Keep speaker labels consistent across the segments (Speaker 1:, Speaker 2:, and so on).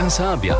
Speaker 1: Zasabia.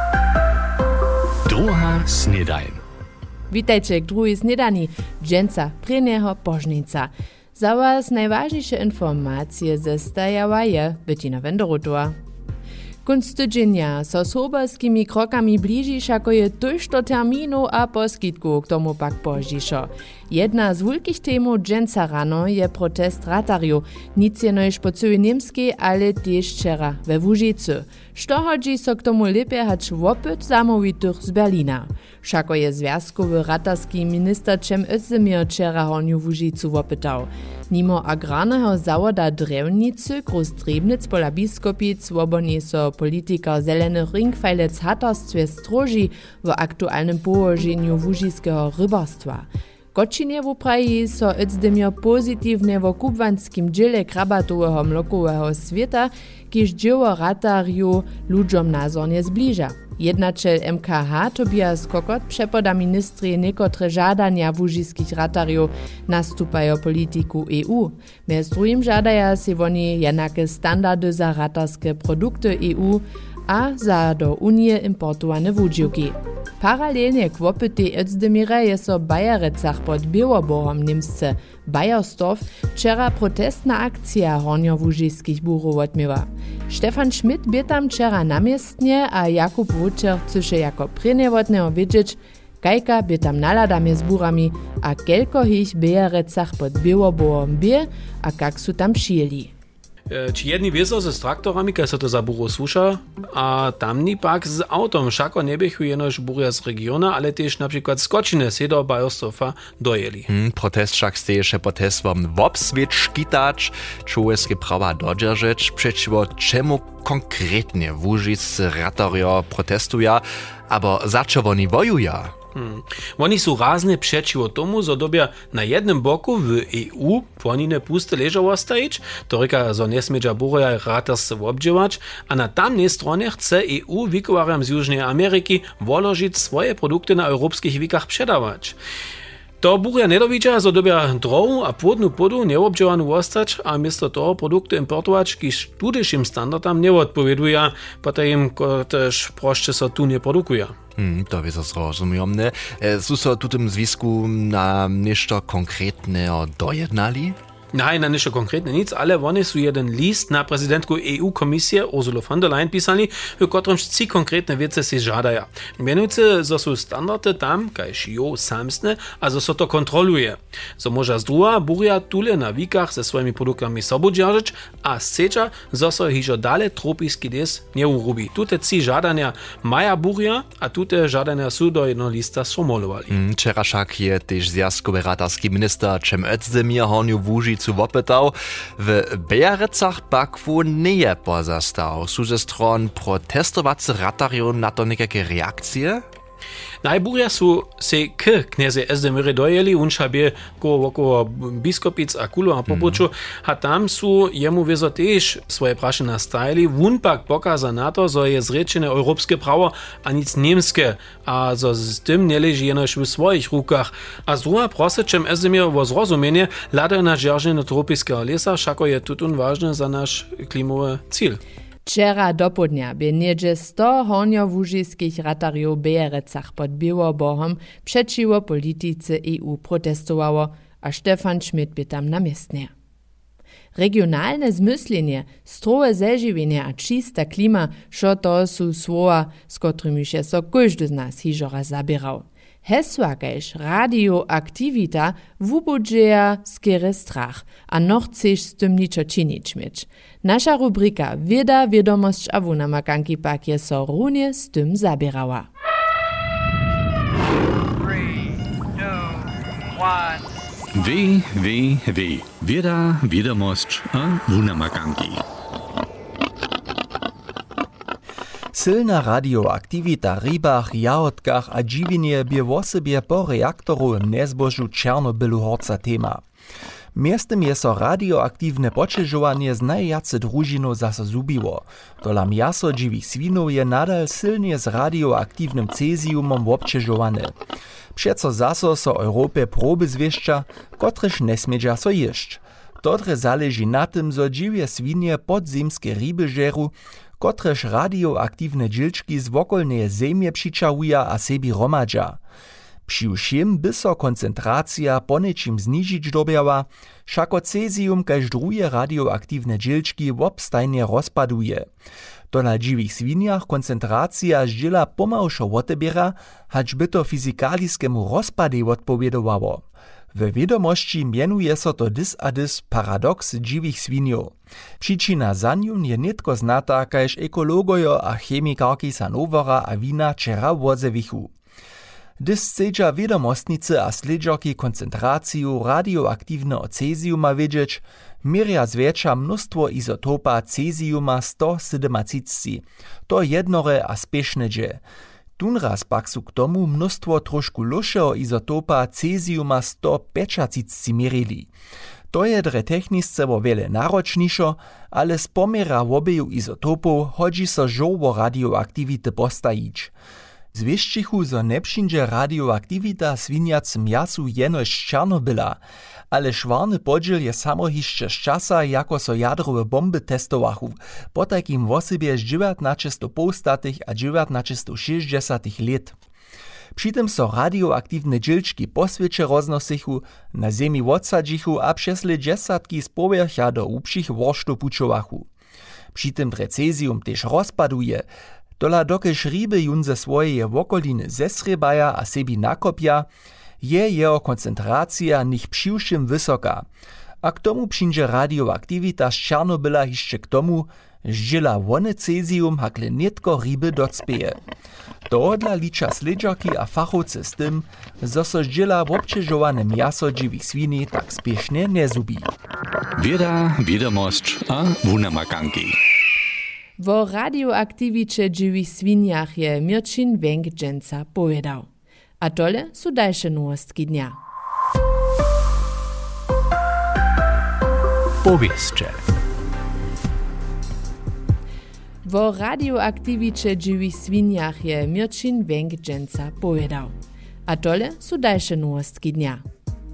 Speaker 1: Druga snedajn.
Speaker 2: Witajcie k druhej snedani, dženca prieného požnica. Za was najważniejsze informacje zestajawa je Bettina Wenderotor. Kunst tydzienia so soberskimi krokami bližiš, ako je tuž do termínu a poskitku, k tomu pak požišo. Jedna z wielkich temów dženca rano je protest ratarju, nic jenož po całej Niemskiej, ale też wczera we Łužicu. Što hodzi so k tomu lepiej hać wopyt zamówitych z Berlina. Šako je związkowy ratarski minister Cem Özdemir wczera hornju w Łužicu wopytał. Nimo agrarnego zawoda drewnicy, gruz Drebnic pola Biskopic, woboni so polityka zelenych ringfajlec hatarstwie stroži w aktualnym położeniu łužiskiego rybarstwa. Kočinie wupraji so Özdemir pozitywnie w kubwanskim dziele krabatowego mlokowego świata, kiż dzieło ratarju ludziom nazornie zbliża. Jednačel MKH Tobias Kokot przepoda ministry niekotre żadania łužiskich ratarjów nastupają polityku EU. Mez drugim żadaja se woni jednake standardy za ratarskie produkty EU a za do Unie importowane wudźiłki. Paralelnie k wopytej Özdemira je so Bajerecach pod Białoborhom Niemsce Bajerstow wczera protestna akcja hornjo-łužiskich burów odmiewa. Stefan Schmidt bie tam wczera namiestnie, a Jakub Wučer chce jako prynewotnego wiedzieć, kajka bie tam naladamie z burami, a kelko ich Bajerecach pod Białoborhom bie, a kak su tam przyjeli.
Speaker 3: Či jedni wieso ze traktorami, kaj se to za buro słuša, a tamni pak z autom. Všako nebiechu jenož burja z regiona, ale też na przykład z Kočine se do Bajerstofa dojeli.
Speaker 4: Protest však steješe protestom vobsvieć, škitać, człowieskie prawa dodržeć, przeciwko czemu konkretnie łužiscy ratarjo protestuja, abo za čo oni wojuja.
Speaker 3: Oni sú razne przeciwko tomu, zo dobia na jednym boku w EU płonine puste leżało stajić, to reka, zo nesmedža burja ratarsce obdziewać, a na tamnej stronie chce EU wikowarjam z Južnej Ameryki woložić swoje produkty na europskich wikach przedawać. To burja nedowidzia, zo dobia drohu a płodnu podu neobdziewaną ostać, a miesto toho produkty importować, kiż tudyšim standardam nie odpowieduja, potem też proszcze so tu nie produkuje.
Speaker 4: To jest zrozumione. Sú so tutym zwisku na nešto konkretného dojednali?
Speaker 3: Nein, na ništo konkretne nic, ale oni su jeden list na prezidentku EU-komisije Ursula von der Leyen pisali, v kotrem ci konkretne vece si žadaja. Menujúce, zo su standardy tam, kajž jo samsne, a zo so to kontroluje. Zo moža zdruha burja tule na vikach se svojimi produktami sobu džaržič, a sceča, zo so hižo dale tropiski des neurubi. Tute ci žadania maja burja, a tute žadania su do jedno lista sformulovali.
Speaker 4: Včera však je tež zjazkowy ratarski minister Cem Özdemir hornju v Łužicu wopytał, w Bajerecach pak nie je pozastał. Sú ze stron protestowacy ratarju na to nekake reakcje?
Speaker 3: Najburja su se k kniezy Özdemire dojeli, unša bie okolo Biskopic a Kulo a Popoču, a tam su jemu wieso tež swoje praše nastajili. Wun pak pokaza na to, zo je zrečene europskie prawo, a nic niemskie, a zo z tym nie leži jenož w swoich rukach. A z druga prosi Cem Özdemir o zrozumienie, lada na džerženie tropiského lesa, všako je tutun ważne za nasz klimowy cíl.
Speaker 2: Wczera do południa by niedzie 100 hornjo-łužiskich ratarjów w Bajerecach pod Białoborhom przeciwko polityce EU protestowało, a Stefan Schmidt by tam namiestnie. Regionalne zmyslenie, strowe zežiwienie a čista klima, šo to su słowa, z którymi się so każdy z nas hižora zabierał. Hesła kajž radioaktivita wubudzieja skiery strach, a no chceš z tym niczo činić mieć. Nasza rubrika Wieda, Wiadomość a Wunamakanki pak je so runie z tym zabierała.
Speaker 1: 3, 2, 1. Wieda, Wiadomość a Wunamakanki.
Speaker 5: Silna radioaktivita w rybach, jahodkach a džiwinie bie w osobie po reaktoru w nezbožu Černobylu horca tema. Miestem je so radioaktywne počežovanie z najjace družinu zase zubiło. Dolam jaso dživých svinov je nadal silnie z radioaktywnym cesiumom občežované. Přeco zaso so Europie proby zwieszcza, kotrež nesmiedža so ješć. Ktore zależy na tym, zo dziwie swinie podzemskie ryby żeru, kotreż radioaktywne dźilčki z wokolneje zemje přičahuja a sebi romadža. Přiwšim by so koncentracja ponečim znižić dobjała, šako cesium kaž druje radioaktywne dźilčki wobstajnie rozpaduje. To na dziwych swiniach koncentracja zdźila pomałszo wotebiera, hać by to fizikaliskemu rozpadzie odpowiedowało. W wiadomości mienuje so to dys a dys paradoks dziwych swiniow. Przyczyna za nią je nitko znata, kaž ekologojo a chemikarki Sanovera a Wina wczera wodzewichu. Dys chcedža wiadomostnicy a sledžarki koncentraciju radioaktywnego cesiuma wiedzieć, mieria zwiększa mnóstwo izotopa cesiuma 137. To jednore a spieszne dźe. Tunraz pak su k tomu mnóstwo trošku lušeho izotopa cesiuma 135 mierili. To je dre technisce wo wiele naročnišo, ale z pomiera obeju izotopów hodzi so žoło radioaktivity postajić. Zwieścichu, zo nepšinže radioaktivita swiniacym jasu jenož Černobyla, ale švarny podźiel je samo hišće z časa, jako so jadrowe bomby testowachu, po takim wosybie z 1950 a 1960 let. Přitom so radioaktywne dźilčki po svěće roznosichu, na zemi odsadžichu a přesle džesatki z povrcha do upšich worštov pučovachu. Přitom cesium tež rozpaduje, dola dokež ryby jun ze swojej wokoliny zesrebaja a sebi nakopja, je jeho koncentracja nich přiwšim wysoka. A k tomu přinže radioaktivita z Černobyla hišće k tomu, zdźila wone cesium hakle netko ryby docpeje. Tohodla liča sledžarki a fachowcy z tym, zo so zdźila wobčežowane mjaso dziwych swini tak spiesznie nie zubi.
Speaker 1: Wieda, wiadomość a wunamakanki.
Speaker 2: Wo radioaktiviče dziwych swiniach je Mirčin Wenk-Dženca povedał. A tole su dalsze nowostki dnia.
Speaker 3: Powieszcze.
Speaker 2: Wo radioaktiviče dziwych swiniach je Mirčin Wenk-Dženca povedał. A tole su dalsze nowostki dnia.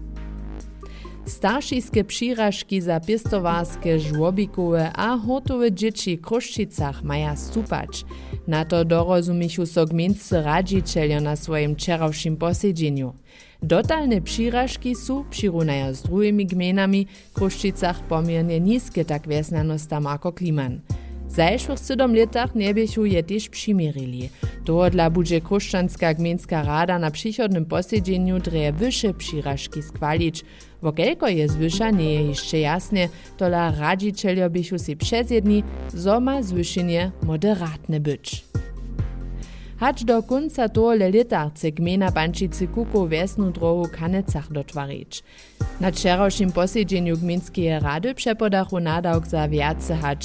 Speaker 2: Staršijske přiražki za pěstovarske, žłobikowe a hortowe dzieci w Kruščicach maja stupać. Na to dorozumichu so gminscy radzicieljo na swoim wczorajszym posiedzeniu. Dotalne přiražki su, přirunaja z drugimi gmenami, w Kruščicach pomiernie niskie tak wjesnanost tam ako Kliman. W zajszłych 7 latach nebiechu je też přimirili. Tohodla budže Kruščanska gmenska rada na przychodnym posiedzeniu dreje wyższe přiražki schwalić. Wo kelko je zwyša, nie je jeszcze jasne, tola radzicieljo bychu si przezjedni, zo ma zwyšenje moderatne być. Hacz do końca tohle leta chce gmena Bančici Kukow wesnu drohu w Kanecach dotwarić. Na wczorajszym posiedzeniu gminskie rady przepodachu nadawk za wiace hacz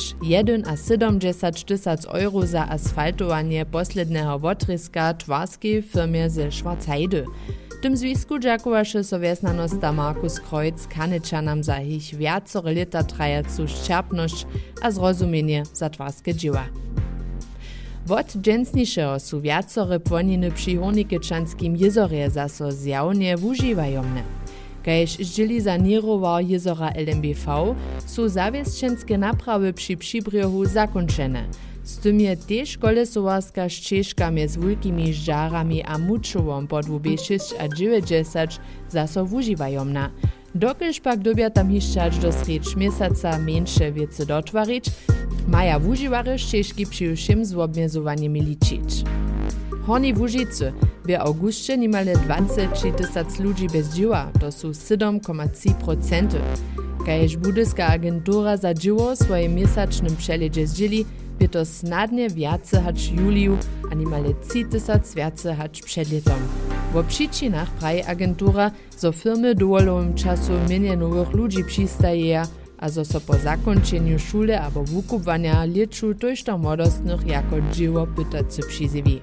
Speaker 2: 1,70 euro za asfaltowanie poslednego wotryska twarskiej firmie ze Schwarzheide. W tym związku dziakowaše so wjesnanosta Markus Kreuz Kanečanam za ich wiacore leta trajacu ščerpnosć a zrozumienie za twarskie dzieła. Wot dżęsnišeho su wiacore płoniny przy Hornikečanskim jezorje zaso zjawnie wużywajomne. Kaž zdźěli saněrował jezora LMBV, su zawiesčenske naprawy przy Přibrjohu zakončene. Z tym je też kolesowarska ścieżka między wielkimi żarami a muczową pod WB6 a 90 zaso wużywajomna. Dokelž pak dobja tam hišćać do sreč měsaca mniejsze wiece dotwarić, maja wużywary ścieżki přiwšim z obmjezowaniem liczyć. Horni Łužicy w augustie nimale 20 000 ludzi bez dzieła, to su 7,3%. Kaž budyska agentura za dzieło swoim miesięcznym przejedzie zdzieli, by to snadnie wiace hacz juliju, a nimale 3 000 wiace hacz przed letom. W przyczynach praje agentura, zo firmy dowolowym czasu mienie nowych ludzi przystaje, a zo so po zakończeniu szule albo wukupwania leczu tojšto młodostnych jako dzieło pytacy przyzywi.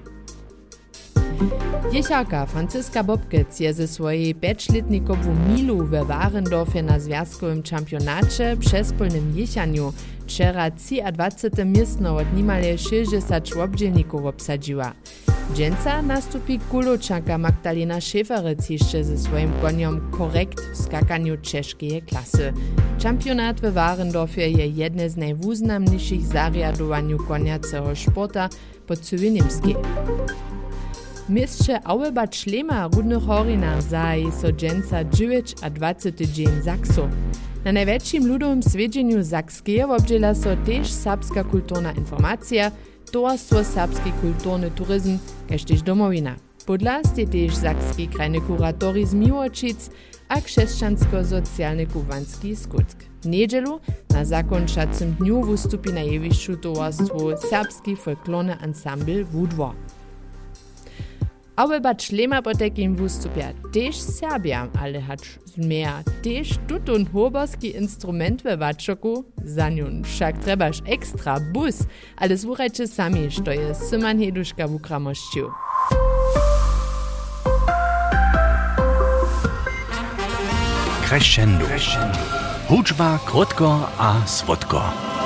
Speaker 2: Jecharka Franziska Bobkec je ze swojej 5-letnikowu milu we Warendorfie na związkowym championacie przez polnym jechaniu wczera 23 miestno od nimale 60 obdzielników obsadziła. Dżęca nastupi kuločanka Magdalena Schäferec jeszcze ze swoim koniem korekt w skakaniu czeskie klasy. Championat w Warendorfie je jedne z najwuznamniejszych zariadowaniu koniaceho sporta po całej Niemskiej. Mistrze Auebad Schlema Rudnych Horinach zaje so dżęca 9 a 20 dzień Saksu. Na największym ludowym swiedzeniu Sakskie obdziela so też serbska kulturna informacja, towarstwo serbski kulturny turyzm, kaž tež domowina. Podlast je tež sakski krajny kuratori z Miłočic a křesćansko-socialny kubanski skutk. W niedzielu na zakončacym dniu wystupi na jewišću towarstwo serbski folklorny ensemble Wudwo. Auebad Schlema po takim wystupia tež Serbia, ale hacz zmieja tež tutun hoborski instrument we Wačoku, za niun však trebaš ekstra bus, ale słuchajcie sami, što je Syman Heduška w Ukramošću.
Speaker 1: Crescendo. Hudžba krótko a słodko.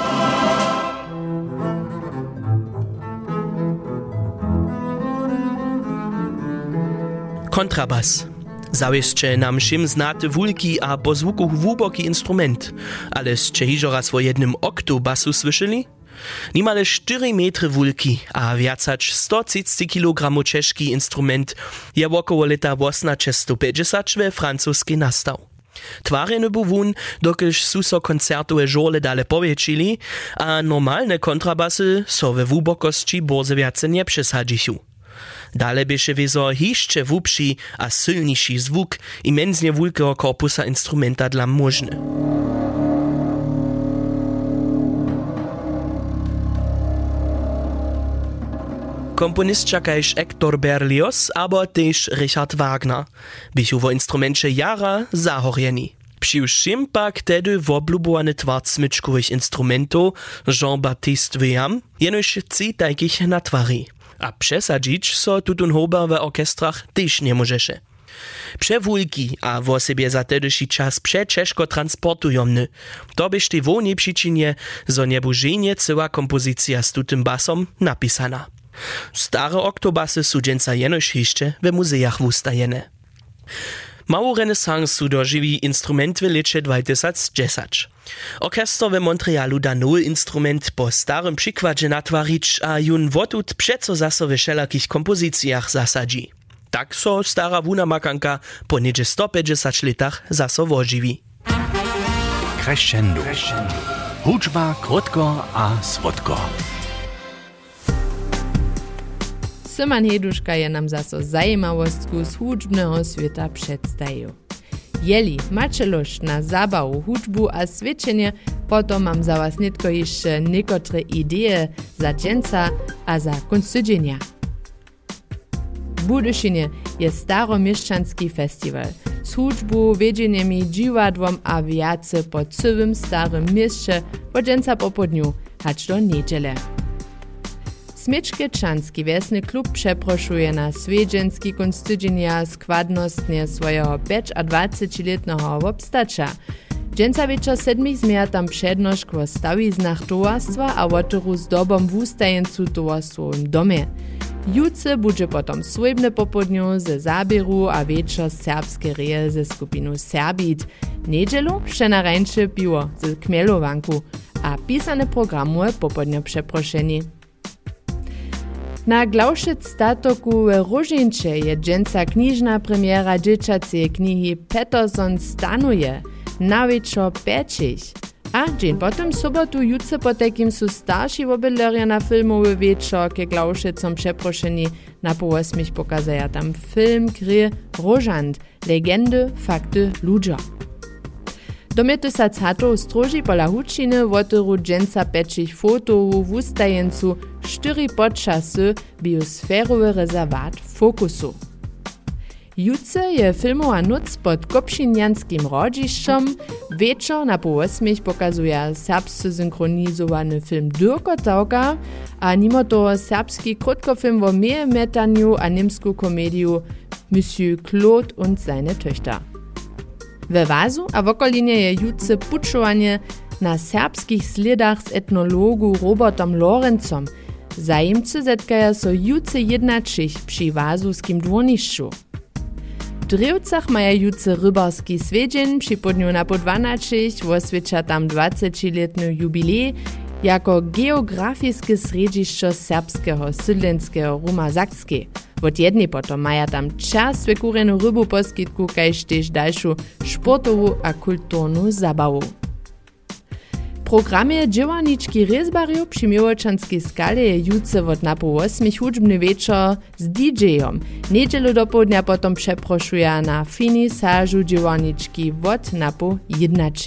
Speaker 6: Kontrabas. Zawieszcze nam všim znate wulki a po zvuku hłuboki instrument, ale ste hižo raz vo jednym oktobasu słyszeli? Nimale 4 metry wulki a viacać 130 kg czeszki instrument je wokoło leta 1850 we francuskiej nastał. Twarjeny był wun, dokelž su so koncertowe żole dale powiększyli, a normalne kontrabasy so we wubokości borze viace nie przesadzišu. Dale bieše wieso hišće wupši a silniši zvuk imenznie wulkeho korpusa instrumenta dla możny. Komponistka kajž Hector Berlioz, aber tež Richard Wagner, bychu vo instrumencie jara zahorjeni. Přiwšim pak tedy woblubowany twart smyczkowych instrumentów Jean-Baptiste Weyam jenož 3 takich natwari. A przesadzić so tutun hoba w orkestrach też nie możeše. Przewulki a wo sobie za tedyši czas przeczeszko transportujomny. To byś ty wolnie przyczynie, zo nie bużenie cała kompozycja z tutym basom napisana. Stare oktobasy su dżęca jenož jeszcze w muzeach wustajene. Małą renesansu dożywi instrument w lecie 2010. Orkester w Montrealu da nowy instrument po starym przykładzie natwarić, a jun wotut przeco zaso w wszelakich kompozycjach zasadzi. Tak so stara wunamakanka po niedzie 150 latach zaso wożywi.
Speaker 1: Crescendo. Hudžba krótko a słodko.
Speaker 2: Syman Heduška je nam zaso zajmawostku z hudžbneho sveta przedstawił. Jeli macie lust na zabawu, hudžbu a svědčenie, potom mam za was nitko jeszcze niekotre idee za dżęca a za kunstudźenia. W Budyšinie je staromieszczanski festiwal z hudžbu, wiedzeniem, dziwadłom a wiace po całym starym mieście po dżęca popodniu, hacz do niedziele. Smiečkečanski wiesny klub przeproszuje na swiedzenski kunstudźenia składnostnie swojego 25-letnego wobstacza. Dżęca wieczor 7 zmieja tam przednošk wo stawiznach towarstwa a wotoru z dobom wustajencu towarstwowym domie. Jutce budże potom swojbne popodniu ze zabieru a wieczor serbskie reje ze skupinu Serbit. Niedzielu przenarańcze piwo ze kmielowanku a pisane programu popodnio przeproszeni. Na Glaušec statoku w Różinče je dżęca knižna premiera dzieciacej knihy Peterson stanuje na wieczor 5. A dzień potem sobotu jutce po takim su starsi wobydlerja na filmowy wieczor ke Glaušecom przeproszeni na po 8 pokazaja tam film gry Różant, legendy, fakty, ludzie. Domjety sa cato stroži pola hučiny wotyru dżęca pečich fotowu w ustajencu 4 podczasy biosferowy rezerwat Fokusu. Jutce je filmowa noc pod Kopšinjanskim rodzišćom, wieczor na po 8 pokazuje serbscy synchronizowany film Dyrko Tauka, a mimo toho serbski krótkofilm o metanju a niemsku komediu Monsieur Claude und seine Töchter. We Wazu a w okolinie je jutce pučovanie na serbskich sledach z etnologu Robertom Lorencom. Zajimcy zetkaja so juce jednačich przy Wazuskim dwornišću. W Drewcach maja juce rybarski swiedzień przy podniu na po 12 oswiecza tam 20-letny jubilej jako geografiske središće serbskeho sydlenského Ruma Sakske. Od jednej potom maja tam čas svekurenu rybu poskitku, kajž tež dalšu sportovu a kulturnu zabavu. Programie dziełaniczki rezbariu przy Miłoczanskiej skale je juce od napo 8 hudźbny wieczor z DJ-om. Niedzielu do południa potom przeproszuje na finisażu dziełaniczki od napo 11.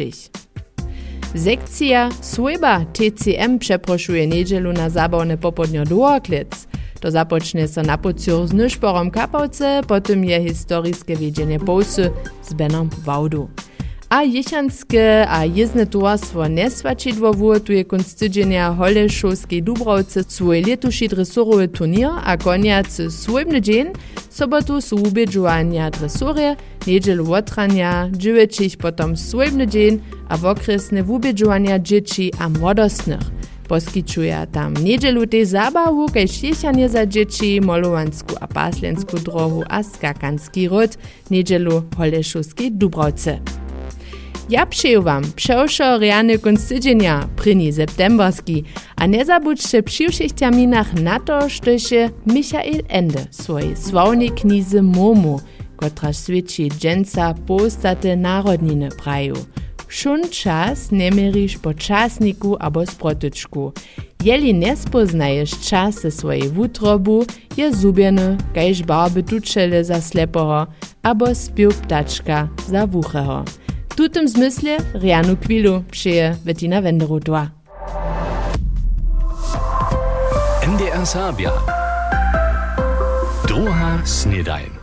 Speaker 2: Sekcja Swojba TCM przeproszuje niedzielu na zabawne popodnio Dworklec. To zapocznie so na pociur z Nyszporom Kapałce, potem je historiskie wiedzenie Połsy z Benom Wałdu. A jechanskie a jezdne towarstwo Nesvačidło wuotuje kunc tydzienia Holešovskej Dubrovce swój letuši dresurowy turnier a koniacy swojbny dzień, sobotu su ubědžovanja dresurje, niedzielu otranja, dziewięcich potom swojbny dzień a wokresne ubědžovanja dzieci a młodostnych. Poskičuje tam niedzielu tej zabawu, kajž jechanie za dzieci, molowansku a paslensku drohu a skakanski ród, niedzielu Holešovskej Dubrovce. Ja přeju wam přeošo reálny kunc tydzienia, 1. septemberski, a nie zabudźcie przy všich terminach na to, štož je Michael Ende swojej sławnej knize Momo, kotra svědčí dženca postate narodniny praju. Šun čas nemeriš po časniku abo sprotyczku. Jeli nespoznaješ čas ze swojej wutrobu, je zubjeny, kajž barby tučele za slepoho, abo spiew ptačka za wucheho. W tutym zmysle reanu chwilu přeje Bettina Wenderotová.
Speaker 1: NDR Serbia. Druha snedajn.